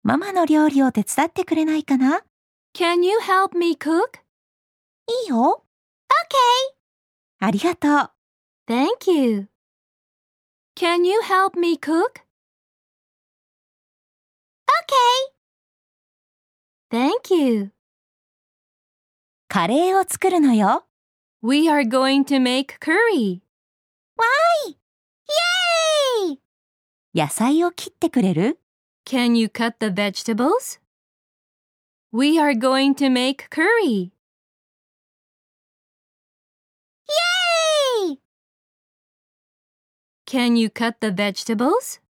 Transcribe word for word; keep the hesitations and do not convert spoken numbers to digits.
ママの料理を手伝ってくれないかな？ Can you help me cook? いいよ。 Okay. ありがとう。 Thank you. Can you help me cook? Okay. Thank you. カレーを作るのよ。 We are going to make curry. わーい！イェーイ！野菜を切ってくれる？ Can you cut the vegetables? We are going to make curry. イェーイ！ Can you cut the vegetables?